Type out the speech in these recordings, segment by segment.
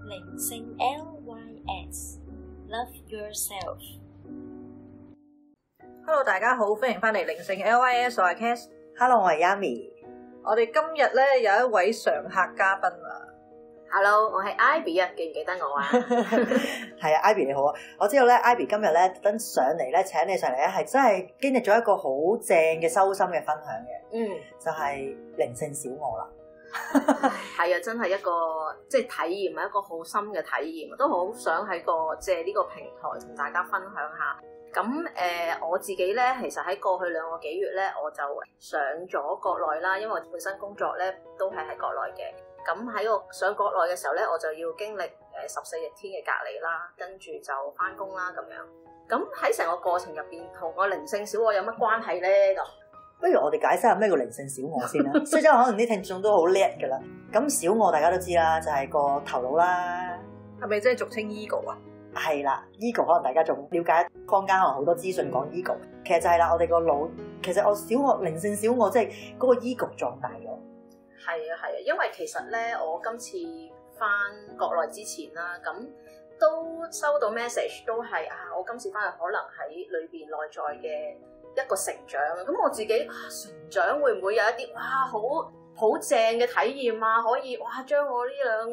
靈性 LYS，Love Yourself。Hello， 大家好，歡迎翻嚟靈性 LYS， 我係 Cass。Hello， 我係 Yami。 我哋今日咧有一位常客嘉賓啊。 Hello， 我係 Ivy 啊，記唔記得我啊？ 係啊，Ivy 你好啊！我知道咧，Ivy 今日咧特登上嚟咧，請你上嚟咧，係真係經歷咗一個好正嘅修心嘅分享嘅。就係靈性小我啦。 係啊，真係一個即係體驗，係一個好深嘅體驗，都好想喺借呢個平台同大家分享下。咁我自己咧，其實喺過去2個幾月咧，我就上咗國內啦，因為我本身工作咧都係喺國內嘅。咁喺上國內嘅時候咧，我就要經歷14日天嘅隔離啦，跟住就翻工啦咁樣。咁喺成個過程入邊，同我靈性小我有乜關係咧？咁不如我哋解釋下咩叫靈性小我先啦。所以可能啲聽眾都好叻㗎啦。咁小我大家都知啦，就係個頭腦啦。 係咪即係俗稱 ego 啊？ 係啦 ，ego 可能大家仲了解坊間可能好多資訊講 ego， 其實就係啦，我哋個腦其實我小我靈性小我即係嗰個 ego 壯大咗。 係啊，因為其實咧，我今次翻國內之前啦，咁都收到 message 都係我今次翻去可能喺裏邊內在嘅一個成長。咁我自己成長會唔會有一啲好正嘅體驗啊？可以將我呢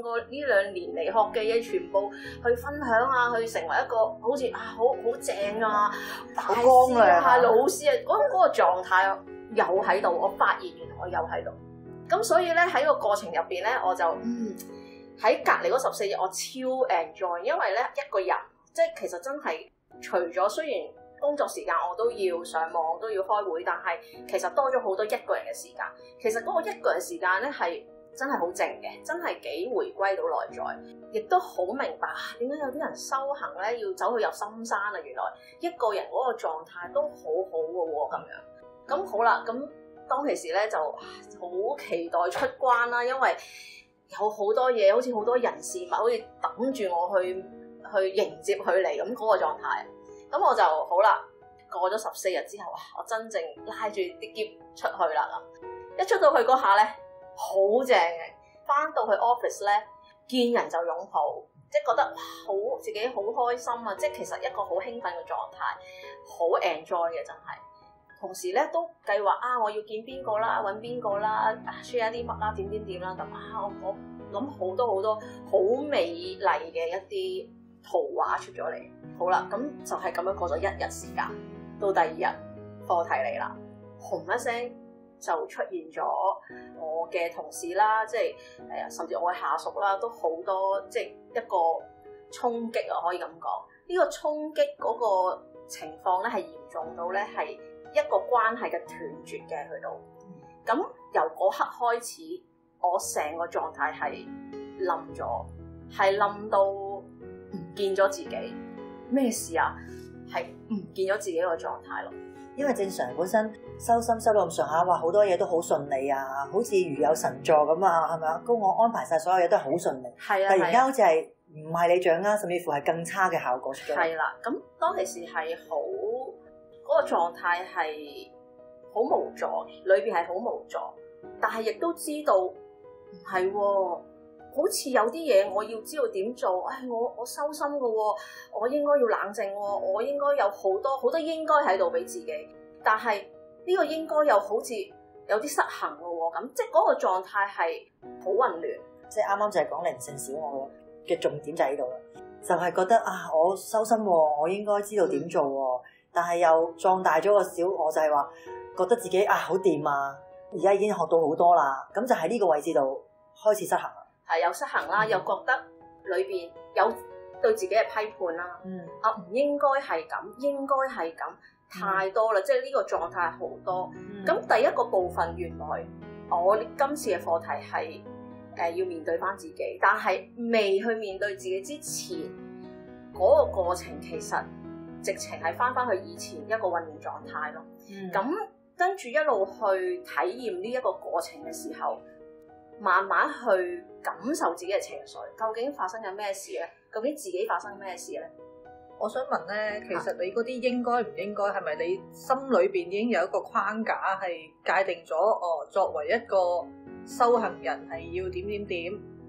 2年嚟學嘅嘢全部去分享啊，去成為一個好似好正啊大師啊老師啊嗰個狀態又喺度，我發現原來我又喺度。咁所以咧喺個過程入邊咧，我就喺隔離嗰14日，我超 enjoy， 因為咧一個人即係其實真係除咗雖然工作時間我都要上網都要開會，但係其實多咗好多一個人嘅時間。其實嗰個一個人時間咧係真係好靜嘅，真係幾回歸到內在，亦都好明白點解有啲人修行咧要走去入深山啊！原來一個人嗰個狀態都好好嘅喎咁樣。咁好啦，咁當其時咧就好期待出關啦，因為有好多嘢，好似好多人事物，好似等住我去迎接佢嚟咁嗰個狀態。咁我就好啦，過咗14日之後，我真正拉住啲篋出去啦。一出到去嗰下咧，好正嘅，翻到去 office 咧，見人就擁抱，即係覺得自己好開心啊！即係其實一個好興奮嘅狀態，好 enjoy 嘅真係。同時咧都計劃我要見邊個啦，揾邊個啦，share 啲乜啦，點啦咁我諗好多好美麗嘅一啲圖畫出咗嚟。好啦，咁就係咁樣過咗1日時間，到第2日課題嚟啦，轟一聲就出現咗我嘅同事啦，即係甚至我嘅下屬啦，都好多即係一個衝擊啊，可以咁講。呢個衝擊嗰個情況咧係嚴重到咧係一個關係嘅斷絕嘅去到，咁由嗰刻開始，我成個狀態係冧咗，係冧到唔見咗自己。咩事啊？係唔見咗自己個狀態咯。 因為正常本身修心修到咁上下，話好多嘢都好順利啊，好似如有神助咁啊，係咪啊？高我安排晒所有嘢都係好順利。係啊。突然間好似係唔係你掌握，甚至乎係更差嘅效果出咗嚟。係啦，咁當其時係好。嗰個狀態係好無助，裏邊係好無助，但係亦都知道唔係喎，好似有啲嘢我要知道點做。我修心嘅喎，我應該要冷靜喎，我應該有好多應該喺度俾自己，但係呢個應該又好似有啲失衡嘅喎，咁即係嗰個狀態係好混亂。 即係啱啱就係講靈性小我嘅重點就喺度啦，就係覺得我修心喎，我應該知道點做喎。但係又壯大咗個小我，就係話覺得自己好掂啊！而家已經學到好多啦，咁就喺呢個位置度開始失衡啦。係有失衡啦，又覺得裏邊有對自己嘅批判啦。唔應該係咁，應該係咁，太多啦！即係呢個狀態好多。咁第一個部分，原來我今次嘅課題係要面對翻自己，但係未去面對自己之前嗰個過程，其實直情係翻去以前一個混亂狀態咯。咁跟住一路去體驗呢一個過程嘅時候，慢慢去感受自己嘅情緒，究竟發生緊咩事咧？究竟自己發生咩事咧？ 我想問咧，其實你嗰啲應該唔應該，係咪你心裏邊已經有一個框架係界定咗？作為一個修行人係要點點點，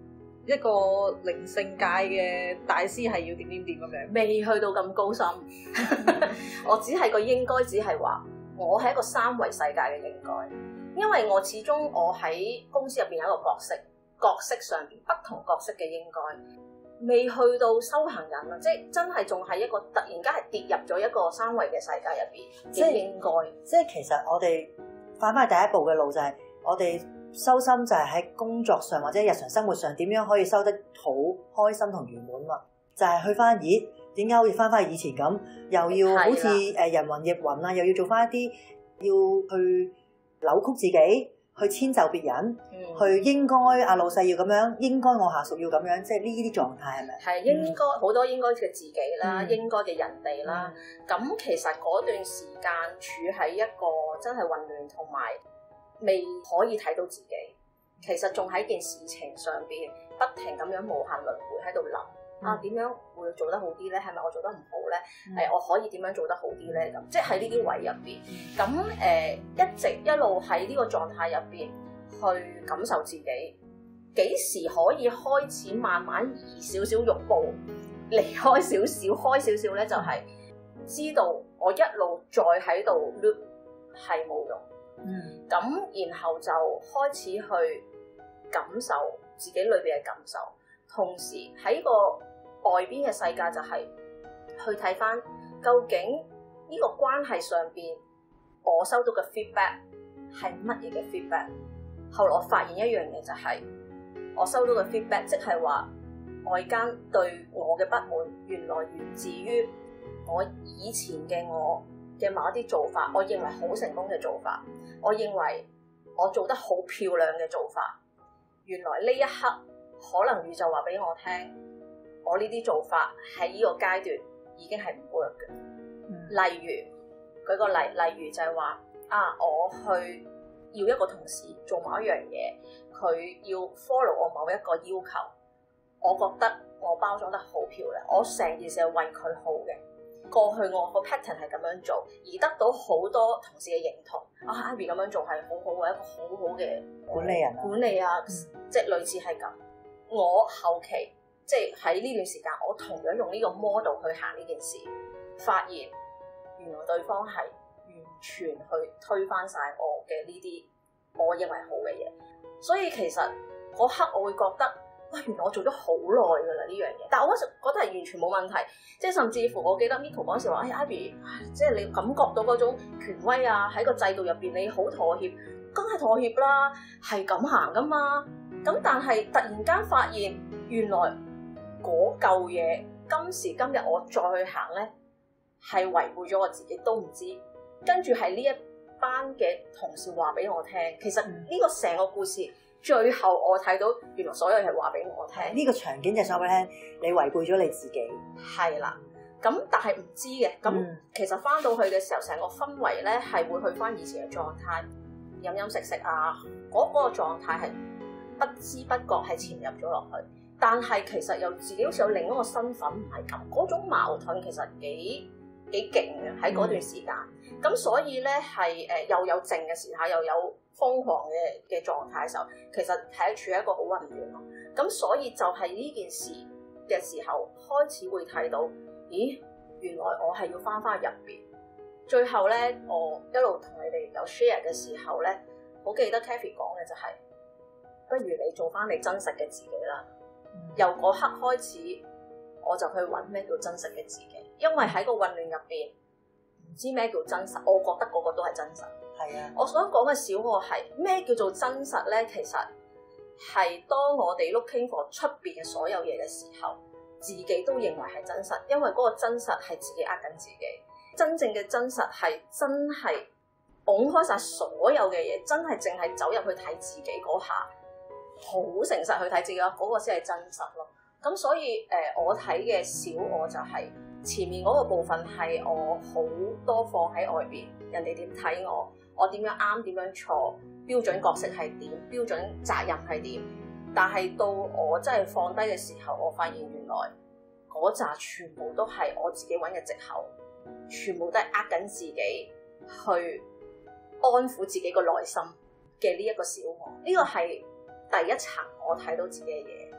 一個靈性界嘅大師係要點點點咁樣？ 未去到咁高深，我只係個應該，只係話我係一個三維世界嘅應該，因為我始終我喺公司入邊有一個角色上邊不同角色嘅應該，未去到修行人啊，即係真係仲係一個突然間係跌入咗一個三維嘅世界入邊嘅應該。 即係其實我哋翻返去第一步嘅路就係我哋修心就係喺工作上或者日常生活上點樣可以修得好開心同圓滿嘛？就係去翻咦？點解好似翻返去以前咁，又要好似人云亦云啊，又要做翻一啲要去扭曲自己，去遷就別人，去應該阿老細要咁樣，應該我下屬要咁樣，即係呢啲狀態係咪？ 係應該好多應該嘅自己啦，應該嘅人哋啦。咁其實嗰段時間處喺一個真係混亂同埋未可以睇到自己，其實仲喺件事情上邊不停咁樣無限輪迴喺度諗。點樣會做得好啲咧？係咪我做得唔好咧？我可以點樣做得好啲咧？咁即係喺呢啲位入邊，咁一直一路喺呢個狀態入邊去感受自己，幾時可以開始慢慢移少少肉步，離開少少，開少少咧，就係知道我一路再喺度 loop 係冇用。咁然後就開始去感受自己裏邊嘅感受，同時喺個外邊嘅世界就係去睇翻究竟呢個關係上邊我收到嘅 feedback 係乜嘢嘅 feedback。後來我發現一樣嘢就係我收到嘅 feedback，即係話外間對我嘅不滿原來源自於我以前嘅我嘅某一啲做法，我認為好成功嘅做法，我認為我做得好漂亮嘅做法，原來呢一刻可能宇宙話俾我聽，我呢啲做法喺呢個階段已經係唔 work 嘅。例如舉個例，例如就係話我去要一個同事做某一樣嘢，佢要 follow 我某一個要求，我覺得我包裝得好漂亮，我成件事係為佢好嘅。過去我個 pattern 係咁樣做，而得到好多同事嘅認同。Ivy 咁樣做係好好嘅，一個好好嘅管理人管理啊，即係類似係咁。我後期即係喺呢段時間，我同樣用呢個 model 去行呢件事，發現原來對方係完全去推翻晒我嘅呢啲我認為好嘅嘢。所以其實嗰刻我會覺得，原來我做咗好耐㗎啦呢樣嘢，但係我嗰時覺得係完全冇問題，即係甚至乎我記得 Miko 嗰時話，Ivy，即係你感覺到嗰種權威啊，喺個制度入邊你好妥協，梗係妥協啦，係咁行㗎嘛。咁但係突然間發現，原來嗰嚿嘢今時今日我再去行咧，係違背咗我自己都唔知。跟住係呢一班嘅同事話俾我聽，其實呢個成個故事。最後我睇到原來所有嘢話俾我聽， 呢個場景就係話俾你聽，你違背咗你自己。 係啦，咁但係唔知嘅，咁其實翻到去嘅時候，成個氛圍咧係會去翻以前嘅狀態，飲飲食食啊，嗰個狀態係不知不覺係潛入咗落去。但係其實又自己好似有另一個身份唔係咁，嗰種矛盾其實幾勁嘅喺嗰段時間。咁所以咧係又有靜嘅時候，又有瘋狂嘅狀態嘅時候，其實係處喺一個好混亂咯。咁所以就係呢件事嘅時候，開始會睇到，咦，原來我係要翻入邊。最後咧，我一路同你哋有 share 嘅時候咧，好記得 Kathy 講嘅就係，不如你做翻你真實嘅自己啦。由嗰刻開始，我就去揾咩叫真實嘅自己，因為喺個混亂入邊，唔知咩叫真實，我覺得個個都係真實。 係啊， 我想講嘅小我係咩叫做真實咧？其實係當我哋 looking for 出邊嘅所有嘢嘅時候，自己都認為係真實，因為嗰個真實係自己呃緊自己。真正嘅真實係真係拱開晒所有嘅嘢，真係淨係走入去睇自己嗰下，好誠實去睇自己嗰個先係真實咯。咁所以我睇嘅小我就係前面嗰個部分係我好多放喺外邊，人哋點睇我。我點樣啱，點樣錯，標準角色係點，標準責任係點，但係到我真係放低嘅時候，我發現原來嗰紮全部都係我自己揾嘅藉口，全部都係呃緊自己去安撫自己個內心嘅呢一個小我。呢個係第一層我睇到自己嘅嘢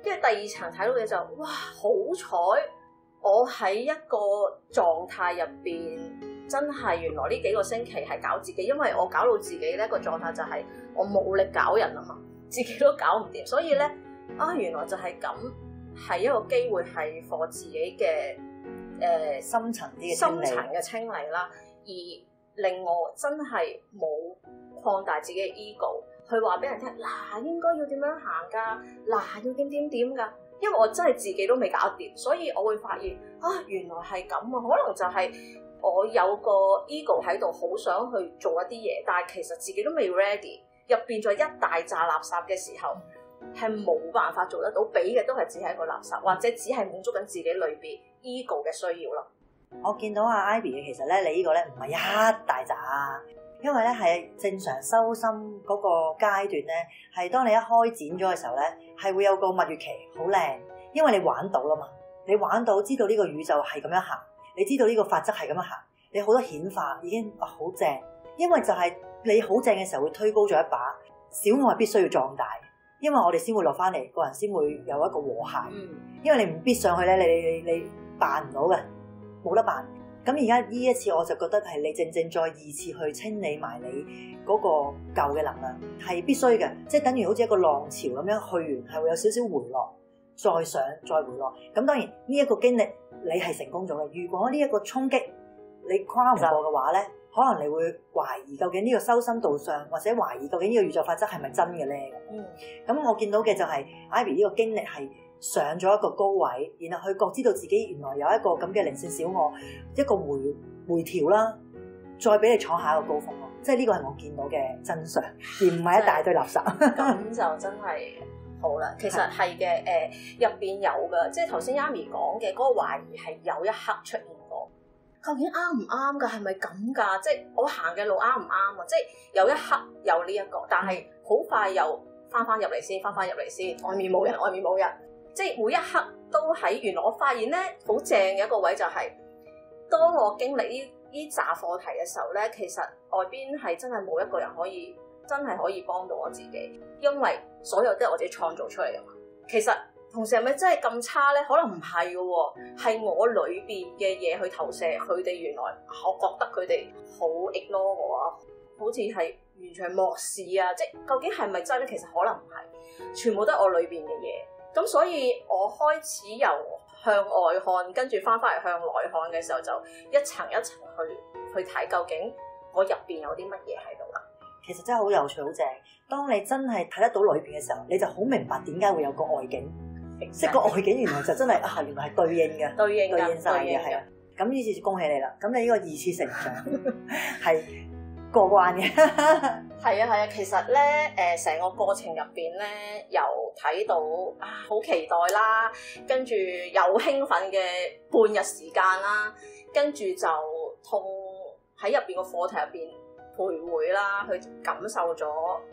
跟住第二層睇到嘅就哇，好彩我喺一個狀態入邊，真係原來呢幾個星期係搞自己，因為我搞到自己咧個狀態就係我冇力搞人啊嘛，自己都搞唔掂，所以咧原來就係咁，係一個機會係 for 自己嘅深層嘅清理啦， 而令我真係冇擴大自己嘅 ego， 去話俾人聽嗱，應該要點樣行㗎，嗱要點㗎，因為我真係自己都未搞掂，所以我會發現原來係咁啊，可能就係我有個 ego 喺度，好想去做一啲嘢，但係其實自己都未 ready， 入邊再一大紮垃圾嘅時候，係冇辦法做得到，俾嘅都係只係一個垃圾，或者只係滿足緊自己裏邊 ego 嘅需要咯。 我見到阿 Ivy 嘅，其實咧，你呢個咧唔係一大紮，因為咧係正常修心嗰個階段咧，係當你一開展咗嘅時候咧，係會有個蜜月期，好靚，因為你玩到啦嘛，你玩到知道呢個宇宙係咁樣行，你知道呢個法則係咁樣行，你好多顯化已經好正，因為就係你好正嘅時候會推高咗一把，小愛必須要壯大，因為我哋先會落翻嚟，個人先會有一個和諧，因為你唔必上去咧，你辦唔到嘅。冇得辦，咁而家呢一次我就覺得係你正再二次去清理埋你嗰個舊嘅能量，係必須嘅，即係等於好似一個浪潮咁樣去完，係會有少少回落，再上再回落。咁當然呢一個經歷你係成功咗嘅，如果呢一個衝擊你跨唔過嘅話咧，可能你會懷疑究竟呢個修心道上，或者懷疑究竟呢個宇宙法則係咪真嘅咧？咁我見到嘅就係 Ivy 呢個經歷係上咗一個高位，然後佢覺知道自己原來有一個咁嘅靈性小我，一個回調啦，再俾你闖下一個高峰咯。即係呢個係我見到嘅真相，而唔係一大堆垃圾。 咁就真係好啦。其實係嘅，入邊有嘅，即係頭先 Amy 講嘅嗰個懷疑係有一刻出現過，究竟啱唔啱㗎？係咪咁㗎？即係我行嘅路啱唔啱啊？即係有一刻有呢一個，但係好快又翻入嚟先，外面冇人。即係每一刻都喺，原來我發現咧好正嘅一個位就係，當我經歷呢紮課題嘅時候咧，其實外邊係真係冇一個人真係可以幫到我自己，因為所有都係我自己創造出嚟嘅嘛。其實同時係咪真係咁差咧？可能唔係嘅喎，係我裏邊嘅嘢去投射佢哋。原來我覺得佢哋好 ignore 我啊，好似係完全漠視啊！即係究竟係咪真咧？其實可能唔係，全部都係我裏邊嘅嘢。咁所以我開始由向外看，跟住翻嚟向內看嘅時候，就一層一層去睇究竟我入邊有啲乜嘢喺度啦。 其實真係好有趣，好正。當你真係睇得到裏邊嘅時候，你就好明白點解會有個外景。即係個外景原來就真係原來係對應嘅，對應晒嘅，係啊。咁呢次恭喜你啦！咁你呢個二次成長係過關嘅。 係啊，其實咧成個過程入邊咧，由睇到好期待啦，跟住有興奮嘅半日時間啦，跟住就同喺入邊個課題入邊徘徊啦，去感受咗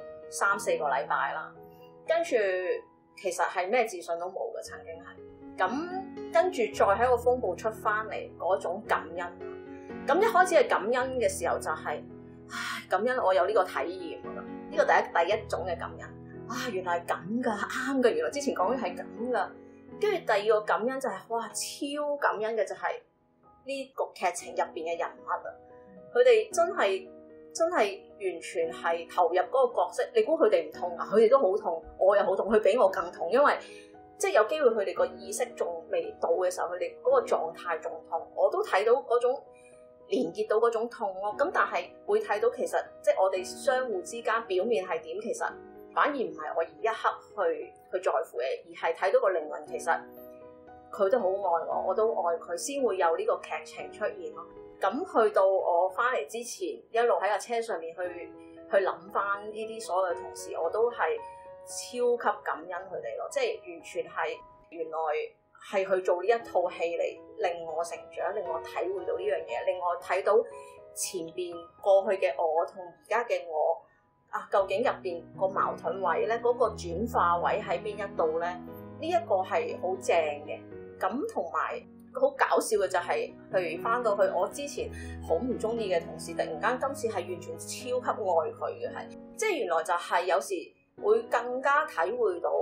3-4個禮拜啦，跟住其實係咩自信都冇嘅，曾經係咁，跟住再喺個風暴出翻嚟嗰種感恩，咁一開始係感恩嘅時候就係感恩我有呢個體驗㗎，呢個第一種嘅感恩，原來係咁㗎，啱㗎，原來之前講嘅係咁㗎，跟住第二個感恩就係超感恩嘅就係呢個劇情入邊嘅人物啊，佢哋真係完全係投入嗰個角色，你估佢哋唔痛啊？佢哋都好痛，我又好痛，佢比我更痛，因為即係有機會佢哋個意識仲未到嘅時候，佢哋嗰個狀態仲痛，我都睇到嗰種連結到嗰種痛咯。咁但係會睇到其實即係我哋相互之間表面係點，其實反而唔係我而一刻去在乎嘅，而係睇到個靈魂其實佢都好愛我，我都愛佢，先會有呢個劇情出現咯。咁去到我翻嚟之前，一路喺架車上面去諗翻呢啲所有嘅同事，我都係超級感恩佢哋咯，即係完全係原來係去做呢一套戲嚟令我成長，令我體會到呢樣嘢，令我睇到前邊過去嘅我同而家嘅我究竟入邊個矛盾位咧，嗰個轉化位喺邊一度咧？呢一個係好正嘅。咁同埋好搞笑嘅就係，譬如翻到去我之前好唔中意嘅同事，突然間今次係完全超級愛佢嘅，係即係原來就係有時會更加體會到我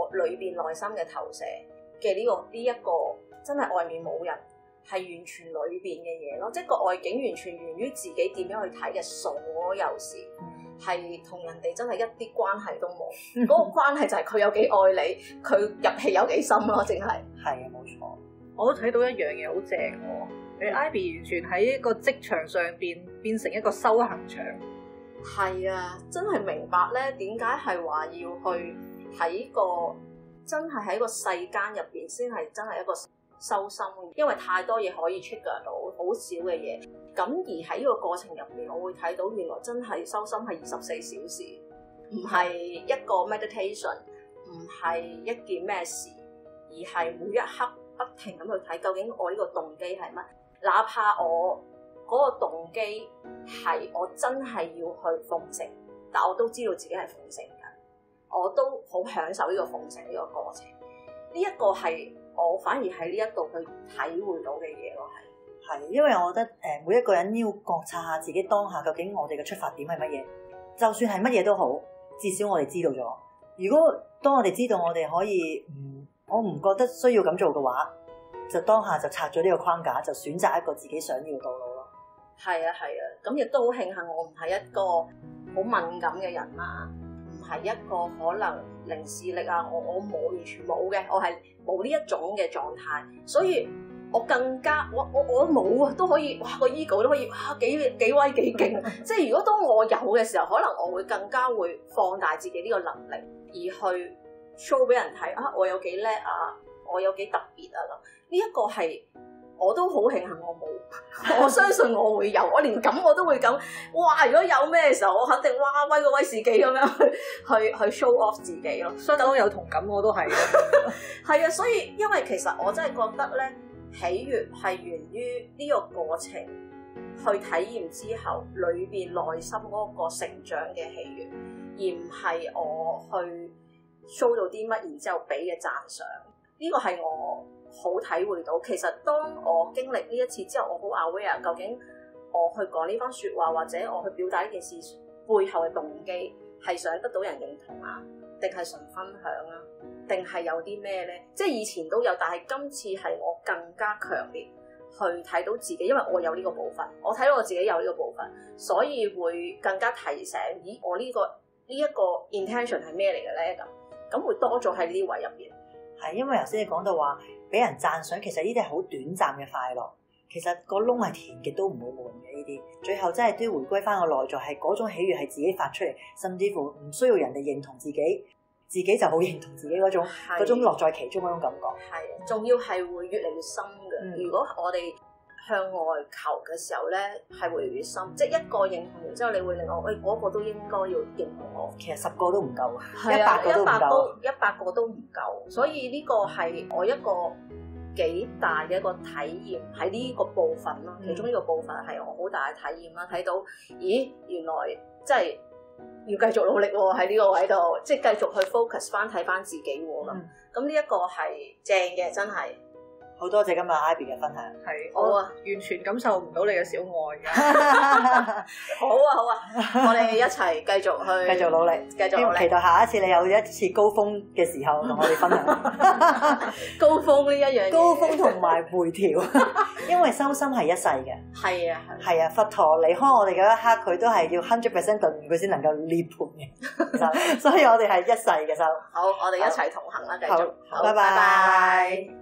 裏邊內心嘅投射嘅呢一個真係外面冇人，係完全裏邊嘅嘢咯，即係個外境完全源於自己點樣去睇嘅所有事，係同人哋真係一啲關係都冇。嗰個關係就係佢有幾愛你，佢入戲有幾深咯，淨係。係啊，冇錯。 我都睇到一樣嘢好正喎，你 Ivy 完全喺一個職場上邊變成一個修行場。 係啊，真係明白咧，點解係話要去喺個真係喺個世間入邊先係真係一個修心，因為太多嘢可以 trigger到，好少嘅嘢。咁而喺呢個過程入邊，我會睇到原來真係修心係24小時，唔係一個 meditation， 唔係一件咩事，而係每一刻不停咁去睇究竟我呢個動機係乜，哪怕我嗰個動機係我真係要去奉承，但我都知道自己係奉承緊，我都好享受呢個奉承呢個過程。呢一個係我反而喺呢一度去體會到嘅嘢咯，係因為我覺得每一個人要覺察下自己當下究竟我哋嘅出發點係乜嘢，就算係乜嘢都好，至少我哋知道咗。如果當我哋知道我哋可以我唔覺得需要咁做嘅話，就當下就拆咗呢個框架，就選擇一個自己想要嘅道路咯。係啊， 咁亦都好慶幸我唔係一個好敏感嘅人啦，唔係一個可能靈視力啊，我冇完全冇嘅，我係冇呢一種嘅狀態，所以我更加我冇啊，都可以哇，個 ego 都可以哇幾威幾勁，即係如果當我有嘅時候，可能我會更加會放大自己呢個能力，而去 show 俾人睇啊，我有幾叻啊，我有幾特別啊咁，呢一個係我都好慶幸我冇，我相信我會有，我連咁我都會咁，哇！如果有咩嘅時候，我肯定哇威個威士忌咁樣去 show off 自己咯。 相當有同感，我都係。 係啊，所以因為其實我真係覺得咧，喜悅係源於呢個過程去體驗之後，裏邊內心嗰個成長嘅喜悅，而唔係我去 show 到啲乜，然之後俾嘅讚賞。呢個係我好體會到，其實當我經歷呢一次之後，我好 aware 究竟我去講呢番説話，或者我去表達呢件事背後嘅動機係想得到人認同啊，定係純分享啊，定係有啲咩咧？即係以前都有，但係今次係我更加強烈去睇到自己，因為我有呢個部分，我睇到我自己有呢個部分，所以會更加提醒，咦，我呢一個 intention 係咩嚟嘅咧？咁會多咗喺呢位入邊。 係因為頭先你講到話俾人讚賞，其實呢啲係好短暫嘅快樂，其實個窿係填極都唔會悶嘅呢啲，最後真係都要回歸翻個內在，係嗰種喜悅係自己發出嚟，甚至乎唔需要人哋認同自己，自己就好認同自己嗰種樂在其中嗰種感覺。 係，仲要係會越嚟越深嘅。如果我哋向外求嘅時候咧，係會越嚟越深，即係一個認同完之後，你會令我嗰個都應該要認同我。 其實10個都唔夠 ，100個都唔夠 ，100 個都唔夠。所以呢個係我一個幾大嘅一個體驗喺呢個部分咯。其中呢個部分係我好大嘅體驗啦。睇到，咦，原來即係要繼續努力喎，喺呢個位度，即係繼續去 focus 翻睇翻自己喎咁。咁呢一個係正嘅，真係。 好多謝今日 Ivy 嘅分享， 係好啊， 完全感受唔到你嘅小愛嘅。 好啊，我哋一齊繼續努力，期待下一次你有一次高峰嘅時候同我哋分享。 高峰呢一樣嘢， 高峰同埋回調，因為修心係一世嘅。係啊，佛陀離開我哋嗰一刻，佢都係要100% 頓悟佢先能夠涅槃嘅，所以我哋係一世嘅修。 好，我哋一齊同行啦，繼續。 好，拜拜。